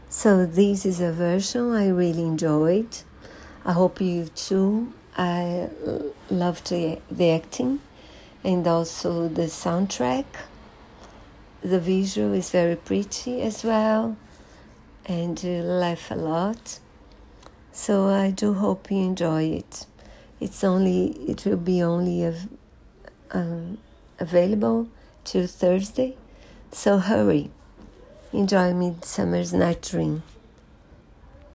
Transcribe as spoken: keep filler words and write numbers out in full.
So this is a version I really enjoyed. I hope you too. I loved the, the acting and also the soundtrack. The visual is very pretty as well, and you laugh a lot. So I do hope you enjoy it. It's only it will be only av- um, available till Thursday, so hurry. Enjoy Midsummer's Night Dream.